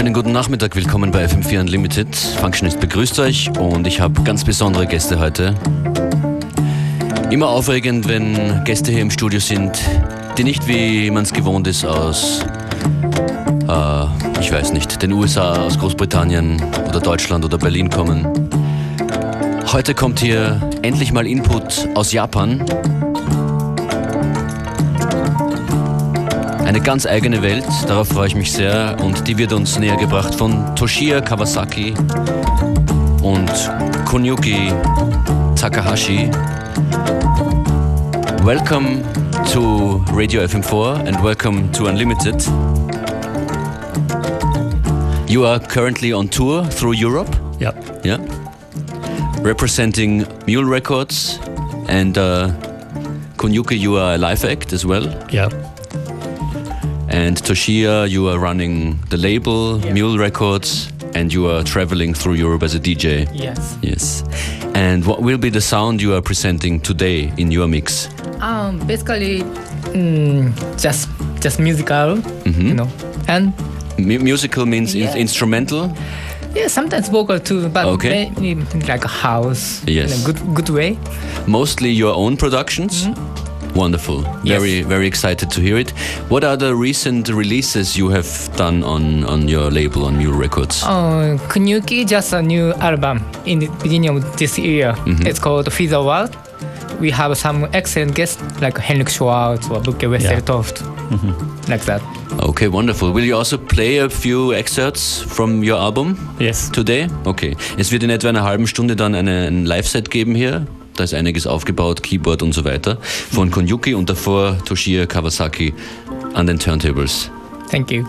Schönen guten Nachmittag, willkommen bei FM4 Unlimited. Functionist begrüßt euch und ich habe ganz besondere Gäste heute. Immer aufregend, wenn Gäste hier im Studio sind, die nicht, wie man es gewohnt ist, aus, ich weiß nicht, den USA, aus Großbritannien oder Deutschland oder Berlin kommen. Heute kommt hier endlich mal Input aus Japan. Eine ganz eigene Welt, darauf freue ich mich sehr, und die wird uns näher gebracht von Toshiya Kawasaki und Kunyuki Takahashi. Welcome to Radio FM4 and welcome to Unlimited. You are currently on tour through Europe? Yeah. Representing Mule Records, and Kunyuki, you are a live act as well? Yeah. And Toshiya, you are running the label, Mule Records, and you are traveling through Europe as a DJ. Yes. And what will be the sound you are presenting today in your mix? Basically, just musical, you know. And musical means instrumental? Yeah, sometimes vocal too, but maybe like a house in a good way. Mostly your own productions? Wonderful. Very excited to hear it. What are the recent releases you have done on your label, on Mule Records? Kunyuki, just a new album in the beginning of this year. It's called Feed the World. We have some excellent guests like Henrik Schwartz or Bukke Westertoft, like that. Okay, wonderful. Will you also play a few excerpts from your album? Yes. Today? Okay. Es wird in etwa einer halben Stunde dann ein Live-Set geben hier. Da ist einiges aufgebaut, Keyboard und so weiter, von Kunyuki und davor Toshiya Kawasaki an den Turntables. Thank you.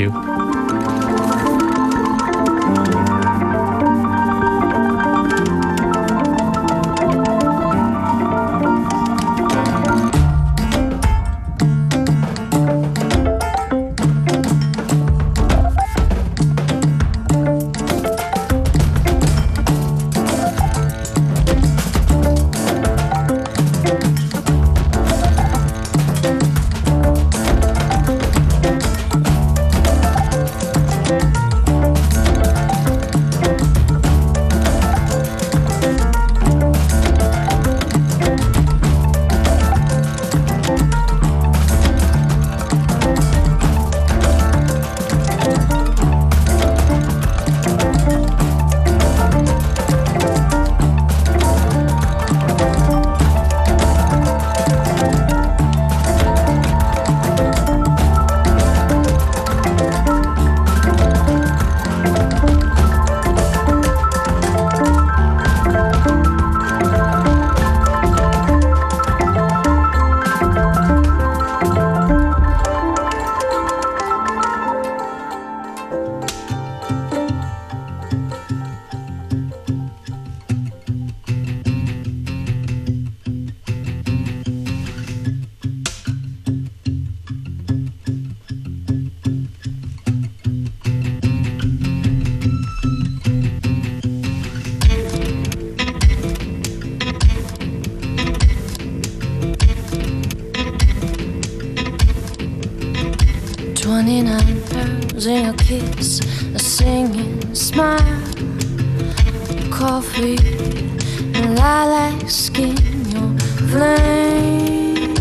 In your kiss, a singing smile, coffee and lilac skin, your flames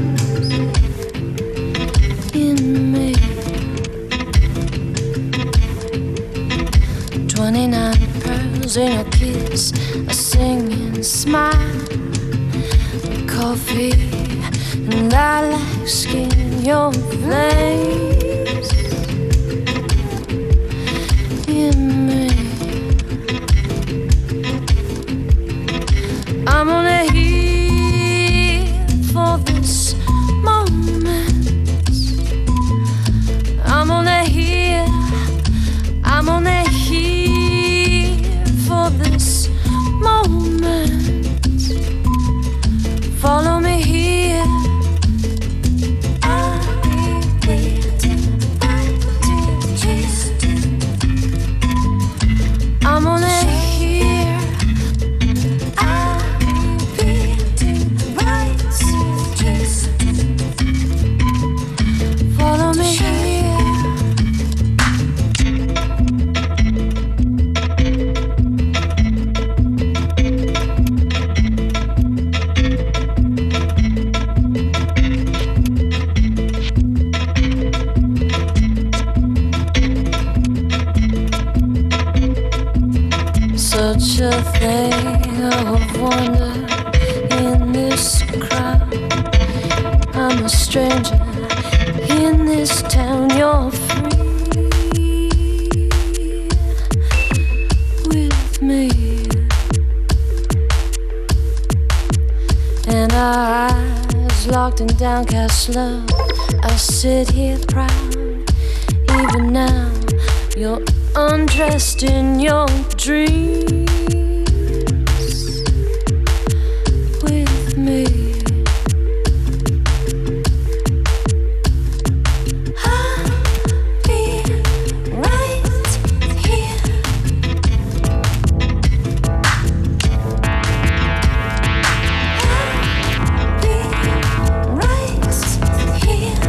in me. 29 pearls in your kiss, a singing smile, coffee and lilac skin, your flames. I'm only here for this moment. I'm only here for this moment. Follow me here. I'll be waiting. a thing of wonder in this crowd. I'm a stranger in this town. You're free with me, and our eyes locked in downcast love. I sit here proud. Even now, you're undressed in your dreams with me. I'll be right here. I'll be right here.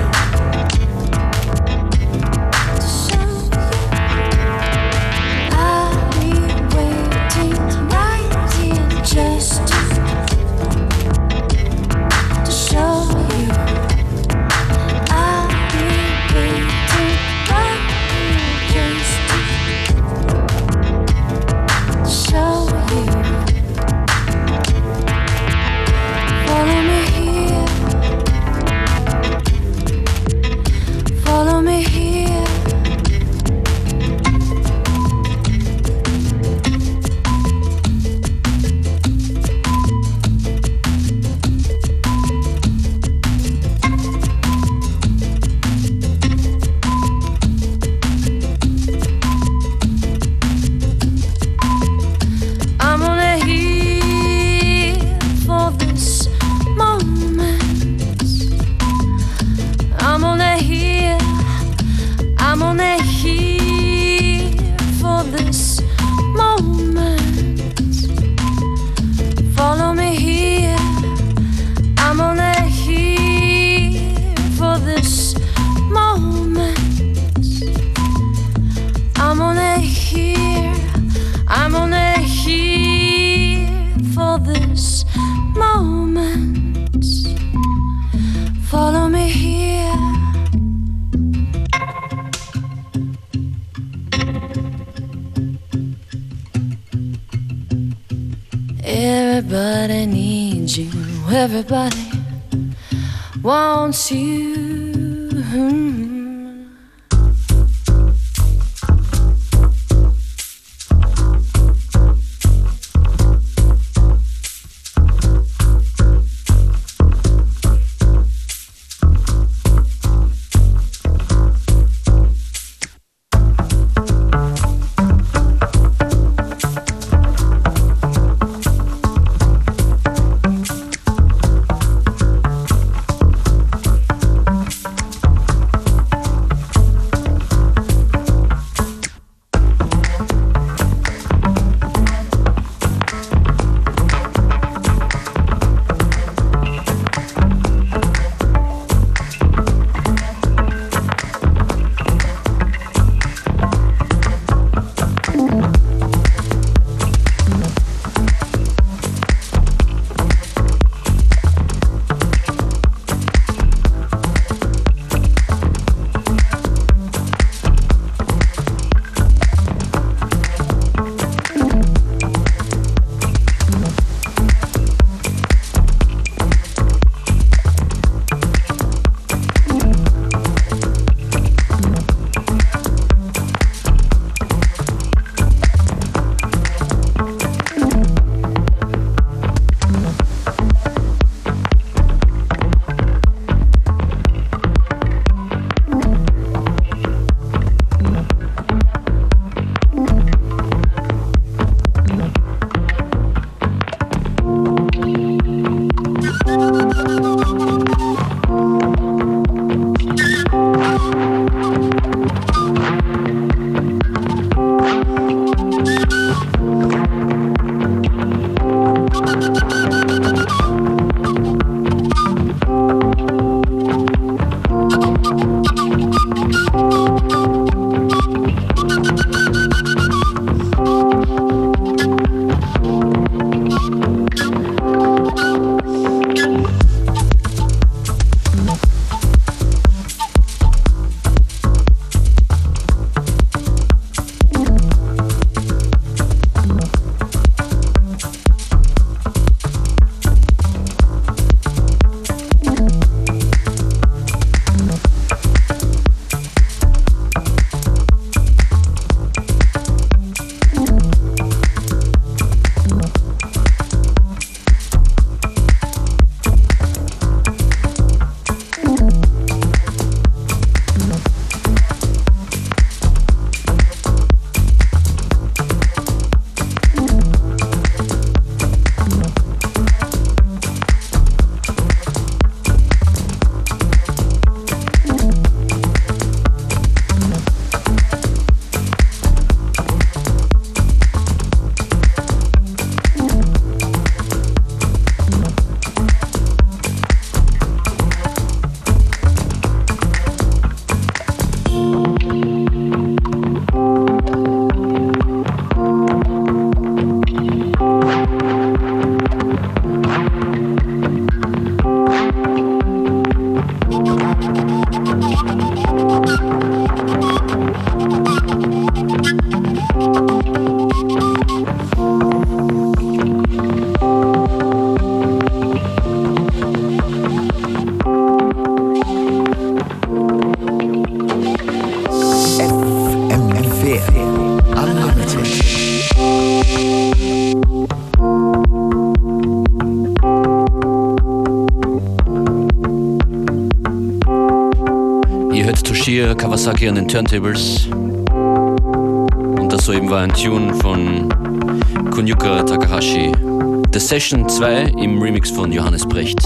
Everybody needs you, everybody wants you. That's great. Ihr hört Toshio Kawasaki an den Turntables. Und das soeben war ein Tune von Kunyuka Takahashi. The Session 2 im Remix von Johannes Brecht.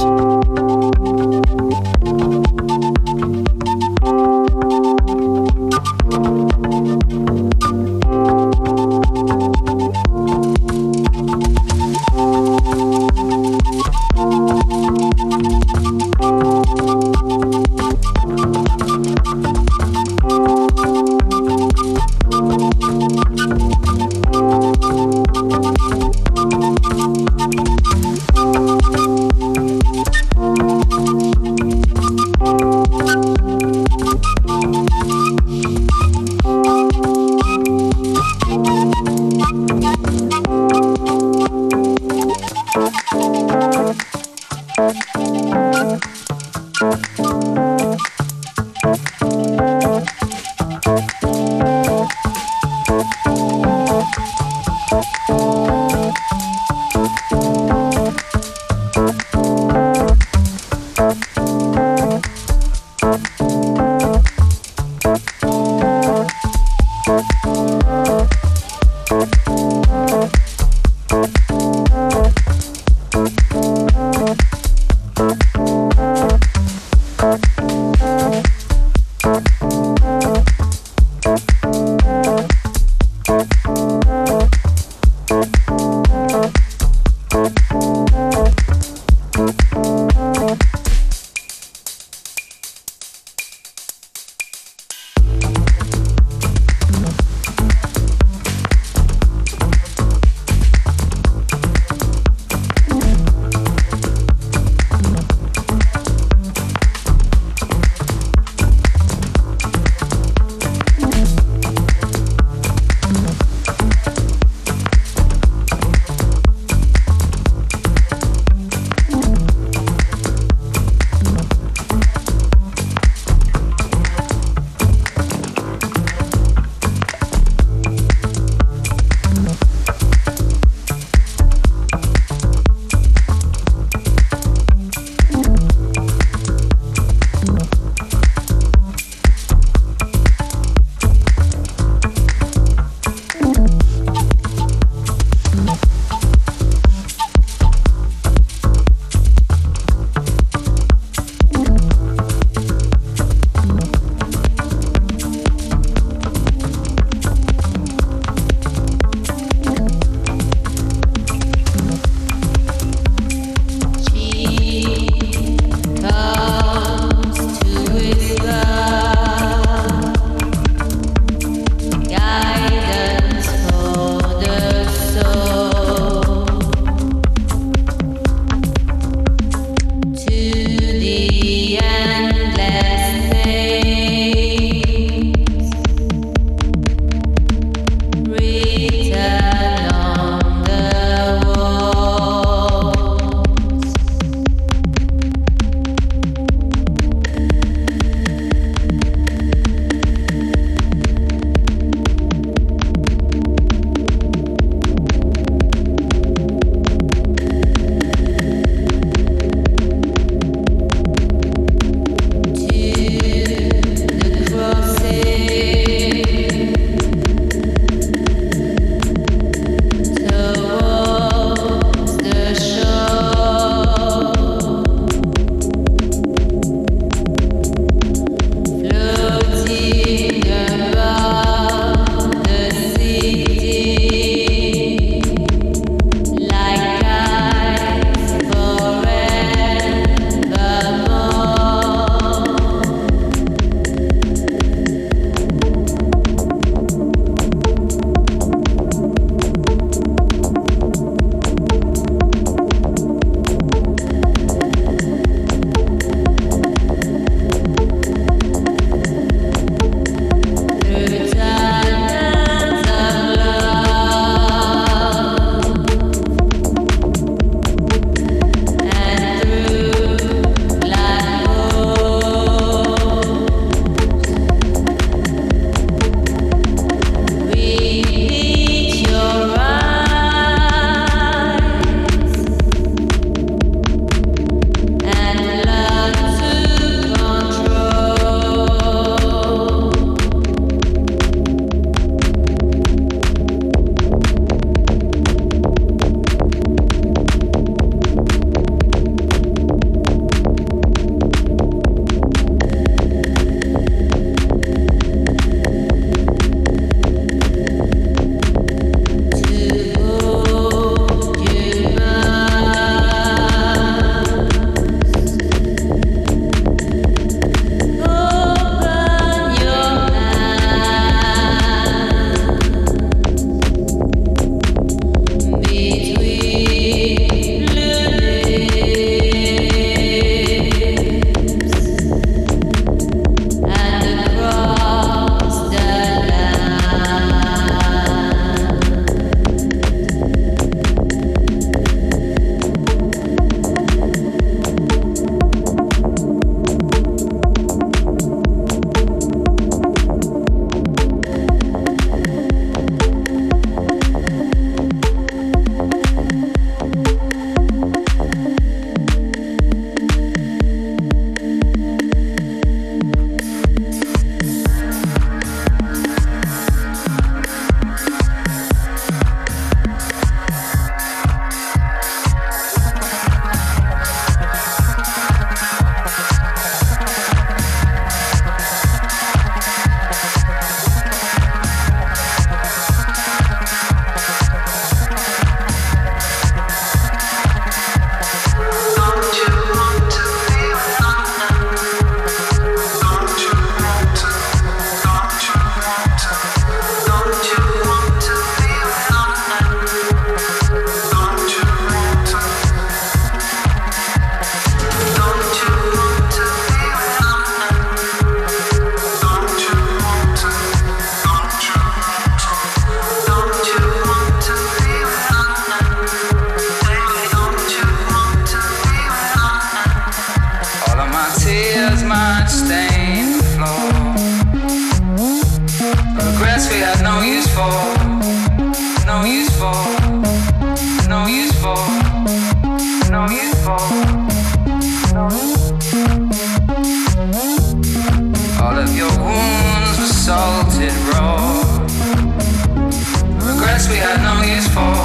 use for.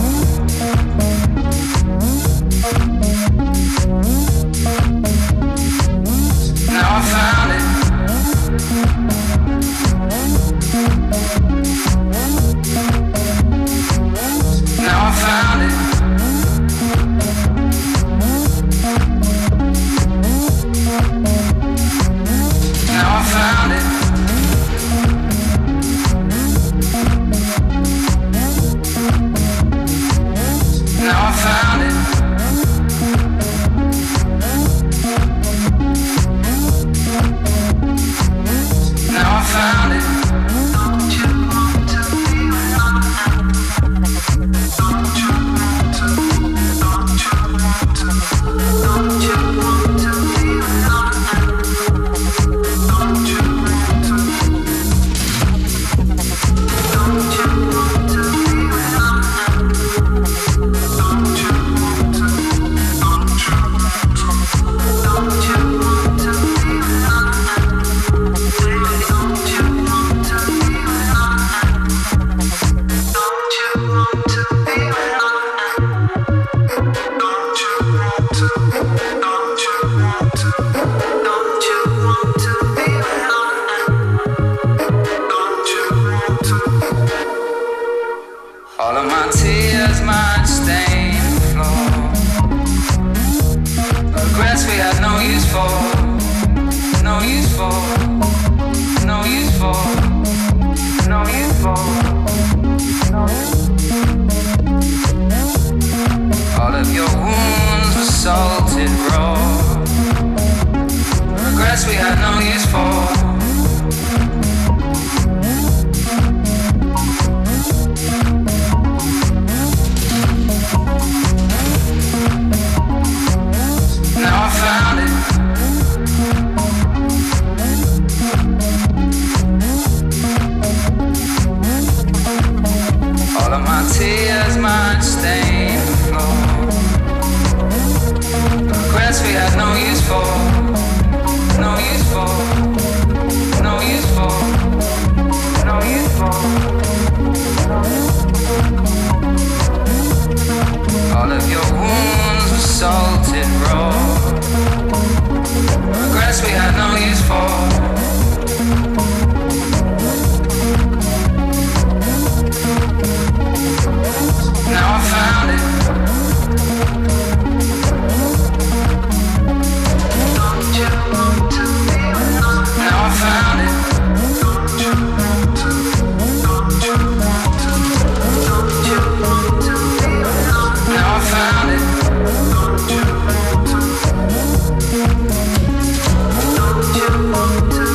Now I found it. Now I found it. Now I found it. Now I found it. Now I found it. Don't you want to be Don't you want to? Don't you want to? Don't you want to be Don't you want to? Don't you want to be Don't you want to? Don't you want to? Don't you want to be Don't you want to be Don't you want to be Don't you want to? Don't you want to? Don't you want to be Don't you want to? All of my tears might stain the floor. Regrets we had no use for. No use for. No use for. No use for. All of your wounds were salted raw. Regrets we had no use for. Now I found it. All of my tears might stain the floor. Regrets we had no use for. No use for. No use for. No use for. All of your wounds were salted raw. Regrets we had no use for. Now I found it. Don't you want to be Now I found it. Don't you want to? Don't you want to? Don't you want to be Now I found it. Don't you want to? Don't you want to?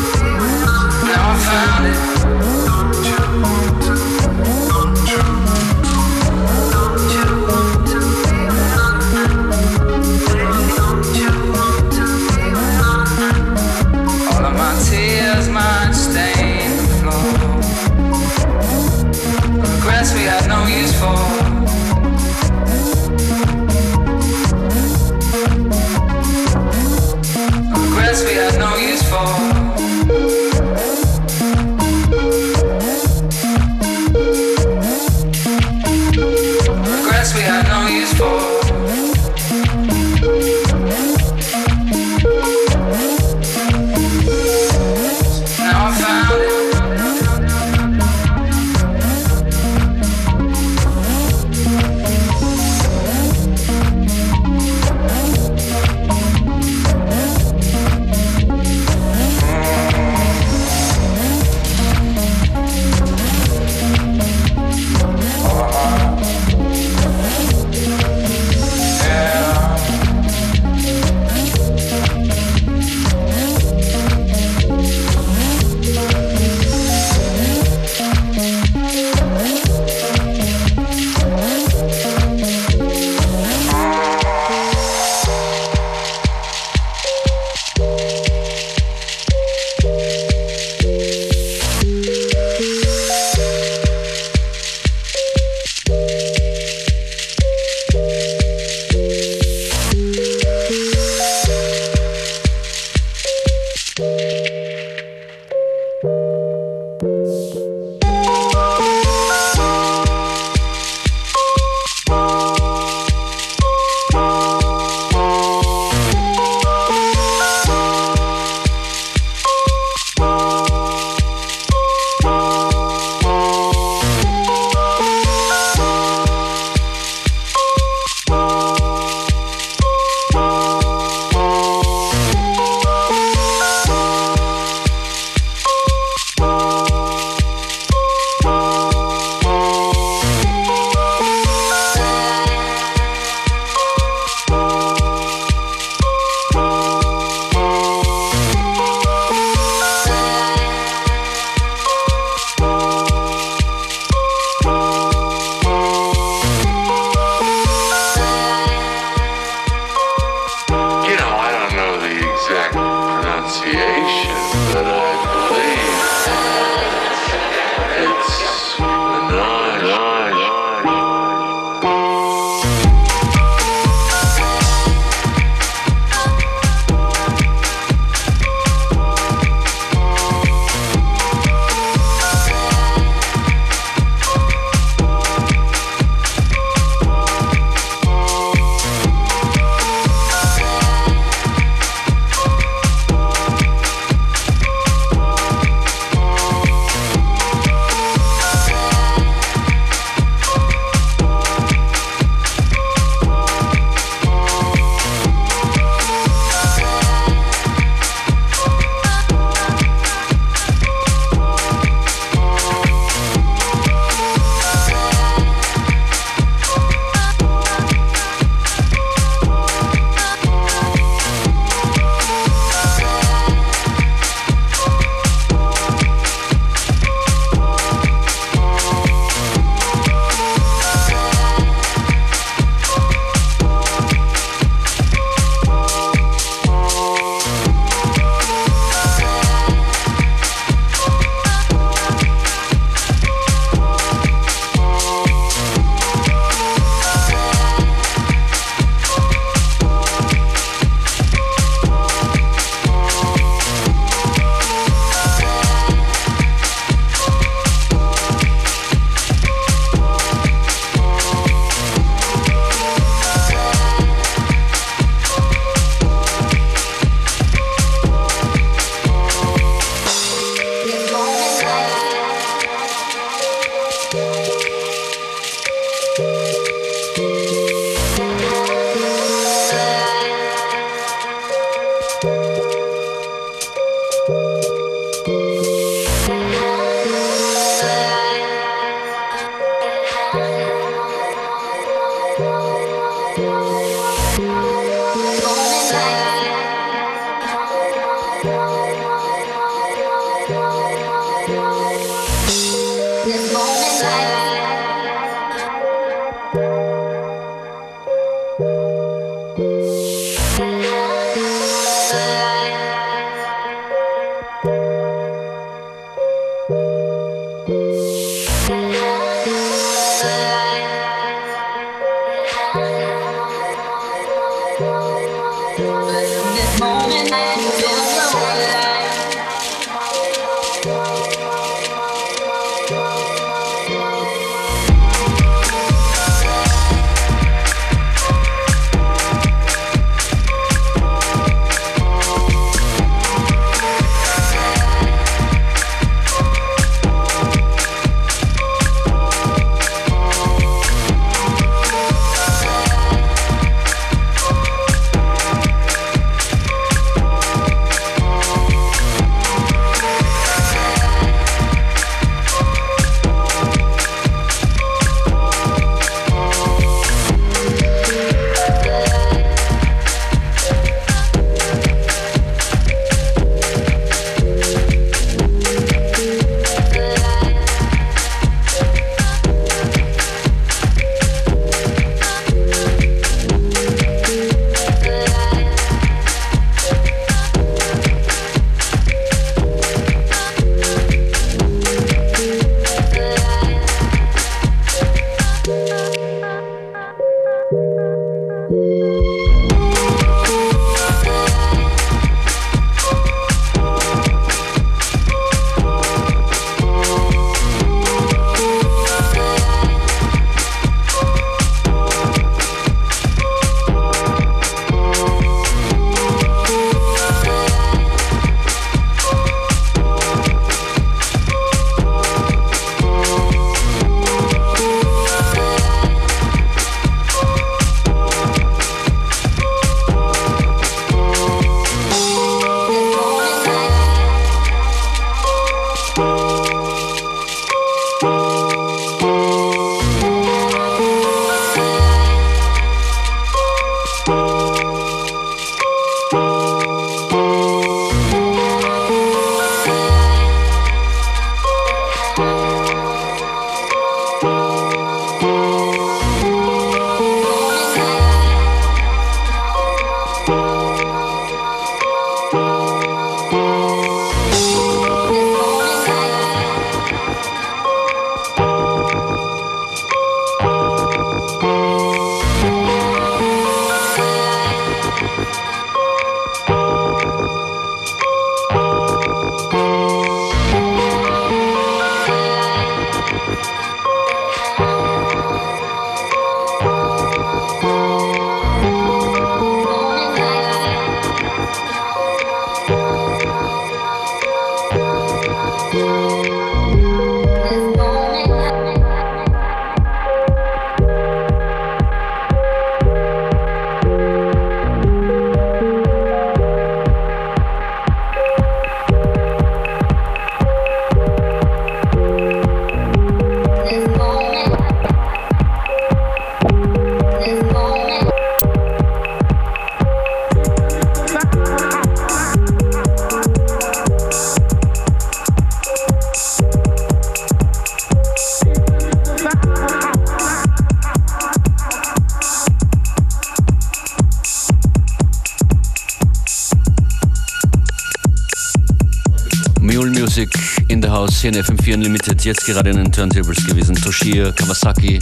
in the house hier in FM4 Unlimited, jetzt gerade in den Turntables gewesen. Toshio Kawasaki.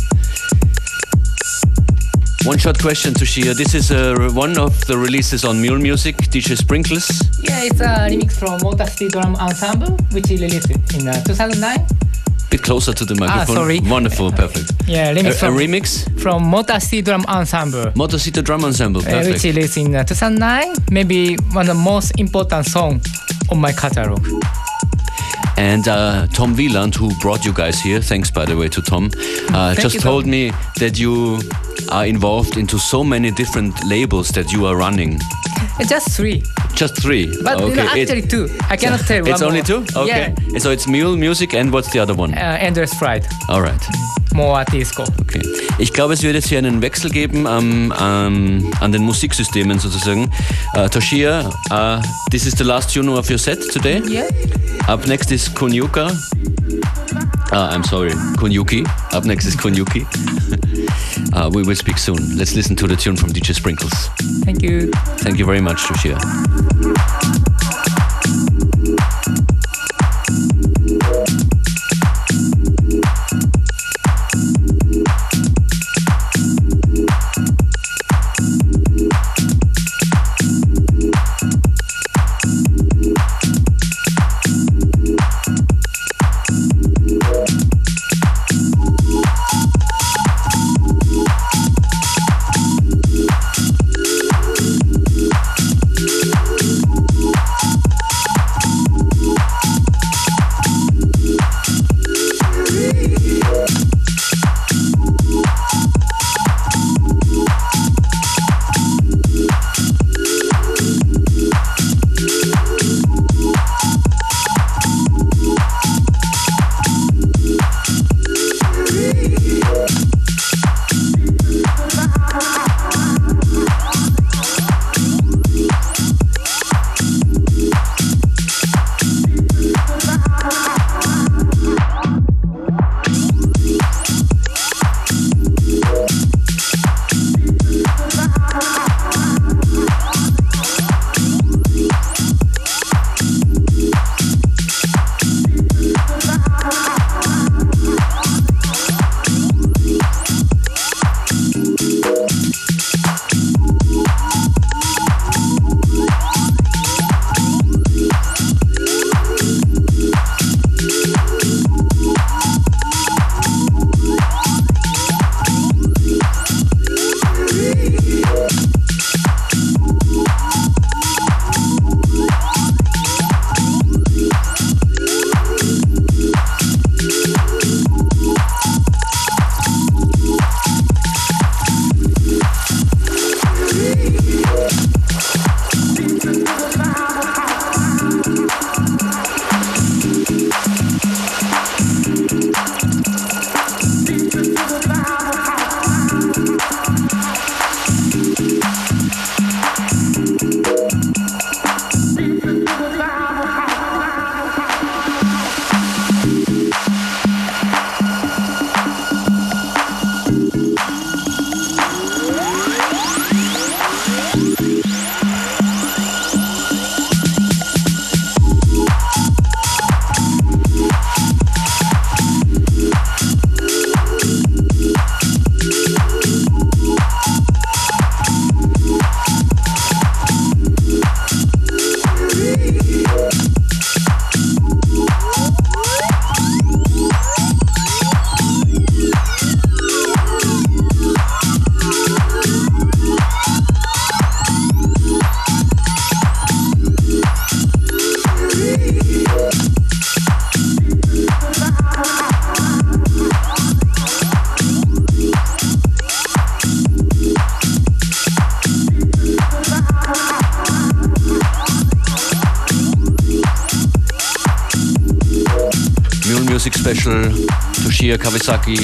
One short question, Toshio. This is one of the releases on Mule Music, DJ Sprinkles. Yeah, it's a remix from Motor City Drum Ensemble, which is released in 2009. Bit closer to the microphone. Sorry. Wonderful, perfect. Yeah, remix A remix from Motor City Drum Ensemble. Motor City Drum Ensemble, perfect. Which is released in 2009. Maybe one of the most important songs on my catalog. And Tom Wieland, who brought you guys here, thanks by the way to Tom, just told me that you are involved into so many different labels that you are running. Just 3. Just 3? But actually 2. I cannot tell one It's only more. 2? Okay. Yeah. So it's Mule Music and what's the other one? Endless Fright. Alright. More disco. Okay. Ich glaube, es wird jetzt hier einen Wechsel geben an den Musiksystemen sozusagen. Toshio, this is the last tune of your set today. Yeah. Up next is Kunyuka. I'm sorry, Kunyuki. Up next is Kunyuki. We will speak soon. Let's listen to the tune from DJ Sprinkles. Thank you. Thank you very much, Toshio. Music Special, Toshio Kawasaki.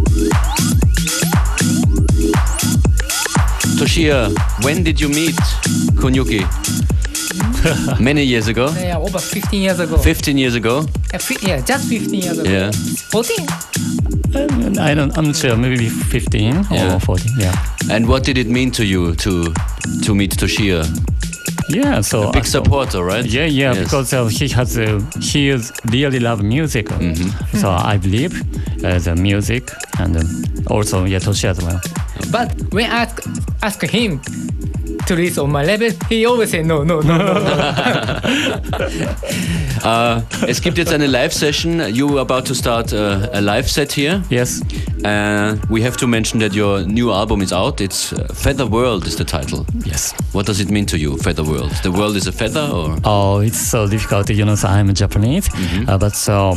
Toshio, when did you meet Kunyuki? Many years ago? Yeah, over 15 years ago. 15 years ago? Yeah, just 15 years ago. Yeah. 14? I'm not sure, maybe 15 Yeah. or 14, yeah. And what did it mean to you to meet Toshio? Yeah, so Big supporter, right? Yeah, Yes. because he is really love music. So I believe the music and also Toshi as well. But when I ask him to release on my label, he always say no. Es gibt jetzt eine Live-Session. You are about to start a live set here. Yes. We have to mention that your new album is out. It's Feather World is the title. Yes. What does it mean to you, Feather World? The world is a feather, or? Oh, it's so difficult. So I'm Japanese, but so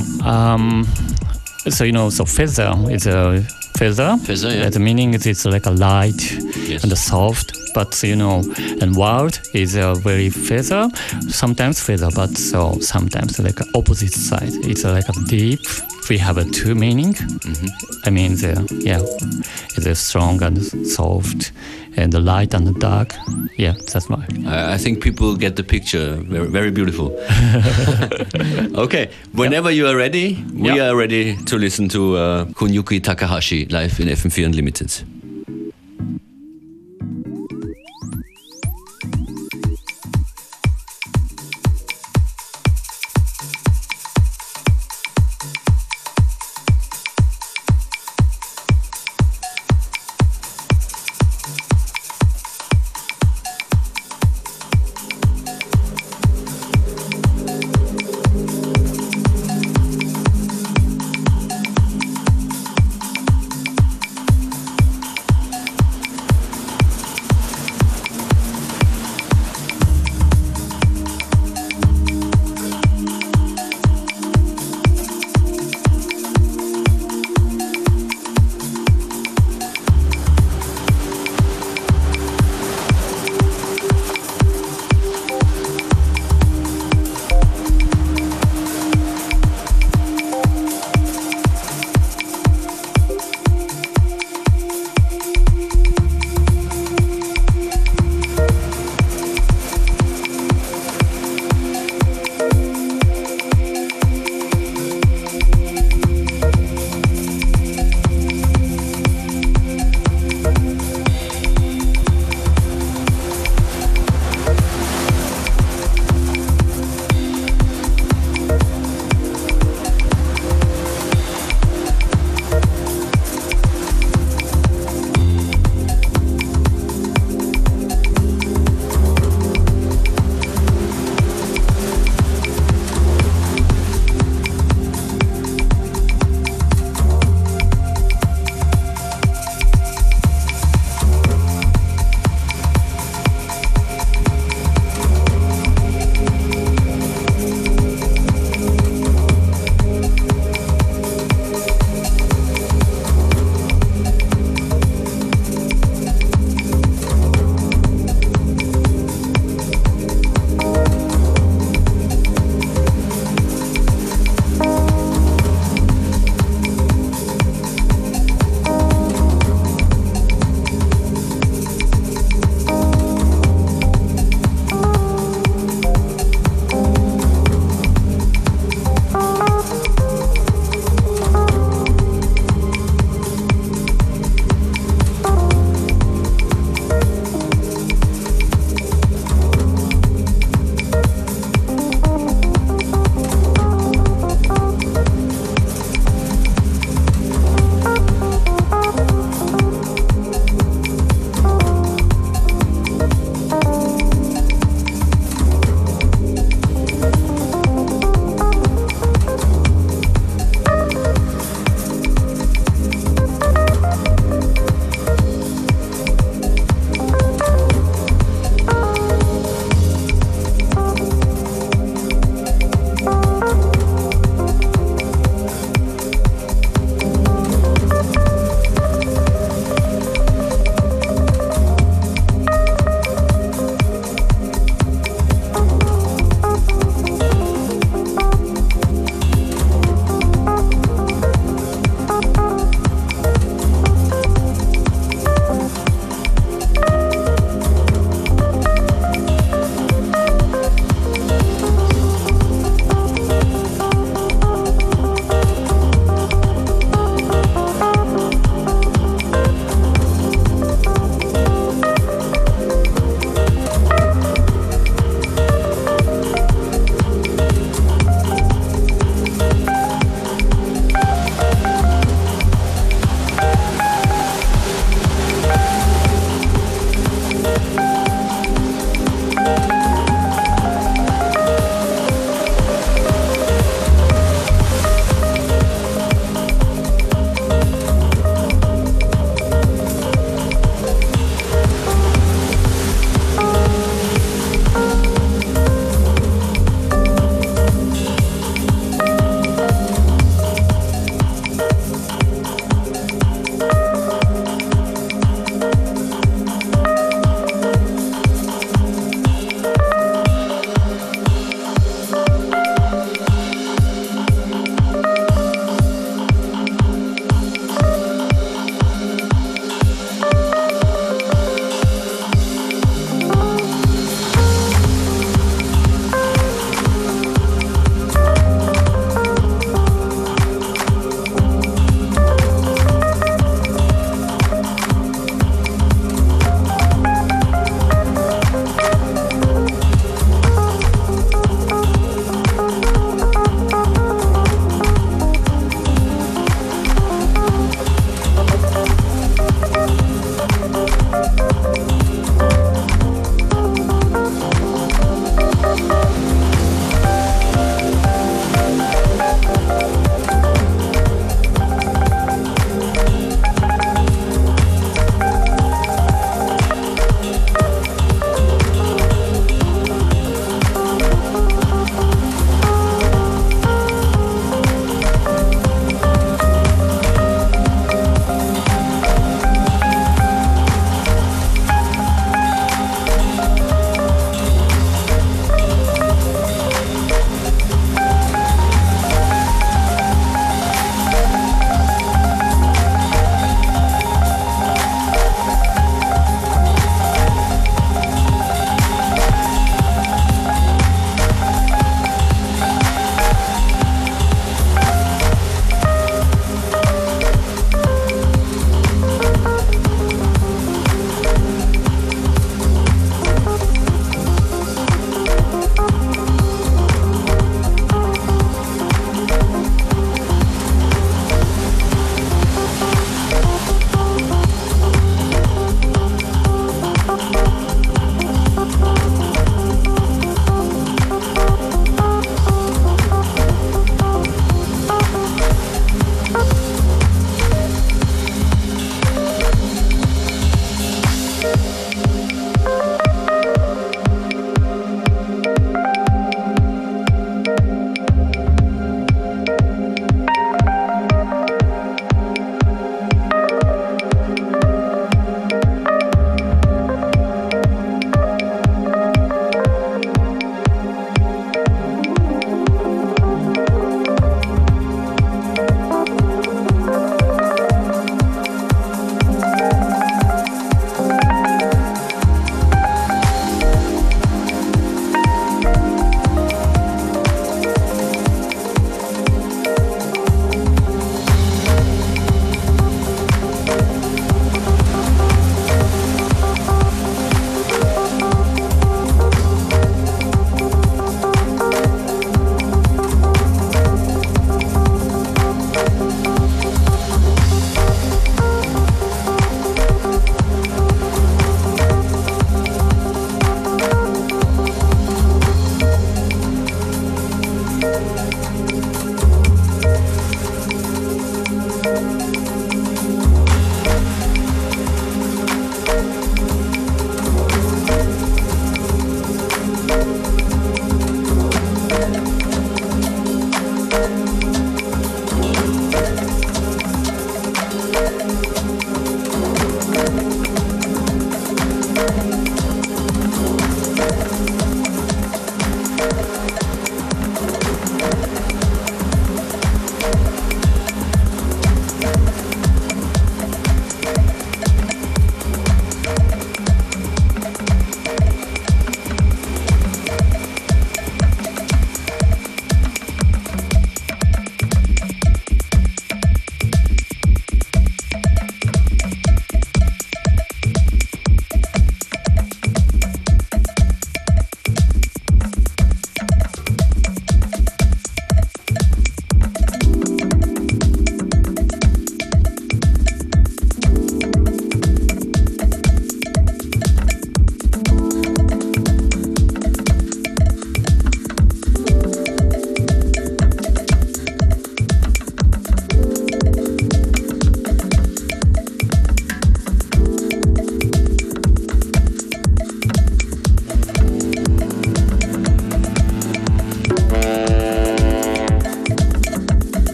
feather is a feather. Feather, yeah. The meaning is it's like a light Yes. and soft. But and world is a very feather. Sometimes feather, but so sometimes like opposite side. It's like a deep. We have a two meaning. I mean, it's a strong and soft, and the light and the dark. Yeah, that's why. I think people get the picture. Very, very beautiful. Okay, whenever you are ready, we are ready to listen to Kunyuki Takahashi live in FM4 Unlimited.